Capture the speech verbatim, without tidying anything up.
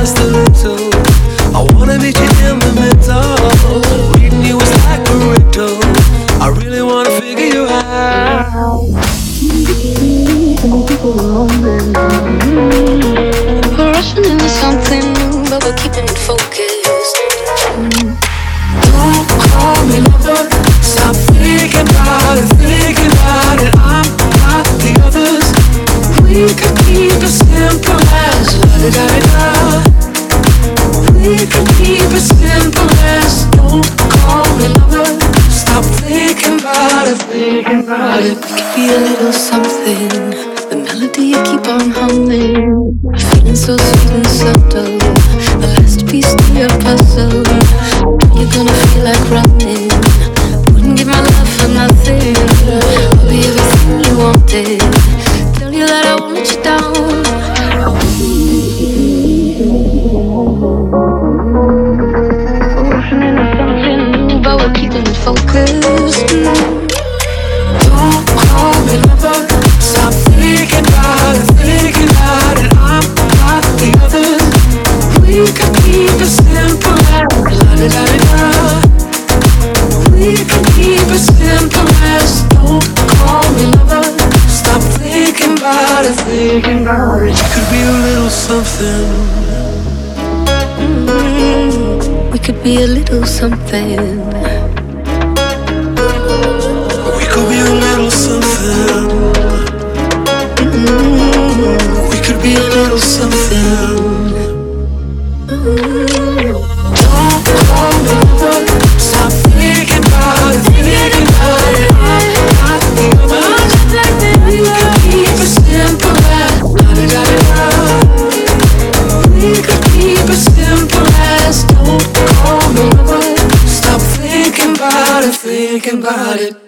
just a little. I wanna meet you in the middle. Reading you is like a riddle. I really wanna figure you out. We're rushing into something new, but we're keeping it focused. Don't call me lover. Stop thinking about it, thinking about it. I'm not the others. We could keep it simple as la-da-da-da. We could keep it simple as don't call me lover. Stop thinking about it, thinking about it. We could be a little something. The melody you keep on humming. Feeling so sweet and subtle. The last piece to your puzzle. You're gonna feel like running. Wouldn't give my love for nothing. I'll be everything you wanted. Tell you that I won't let you down. We're rushing into something new, but we're keeping it focused. Don't call me lover. Stop thinking about it, thinking about it. I'm not the others. We could keep it simple as la-da-da-da. We could keep it simple as don't call me lover. Stop thinking about it, thinking about it. You could be a little something. Mm-hmm. We could be a little something. We could be a little something. Mm-hmm. We could be a little something. Mm-hmm. Don't call me lover. Stop thinking about it, thinking about it. I'm not the other. We could keep it simple as la-da-da-da. We could keep it simple as don't call me lover. Stop thinking about it, thinking about it.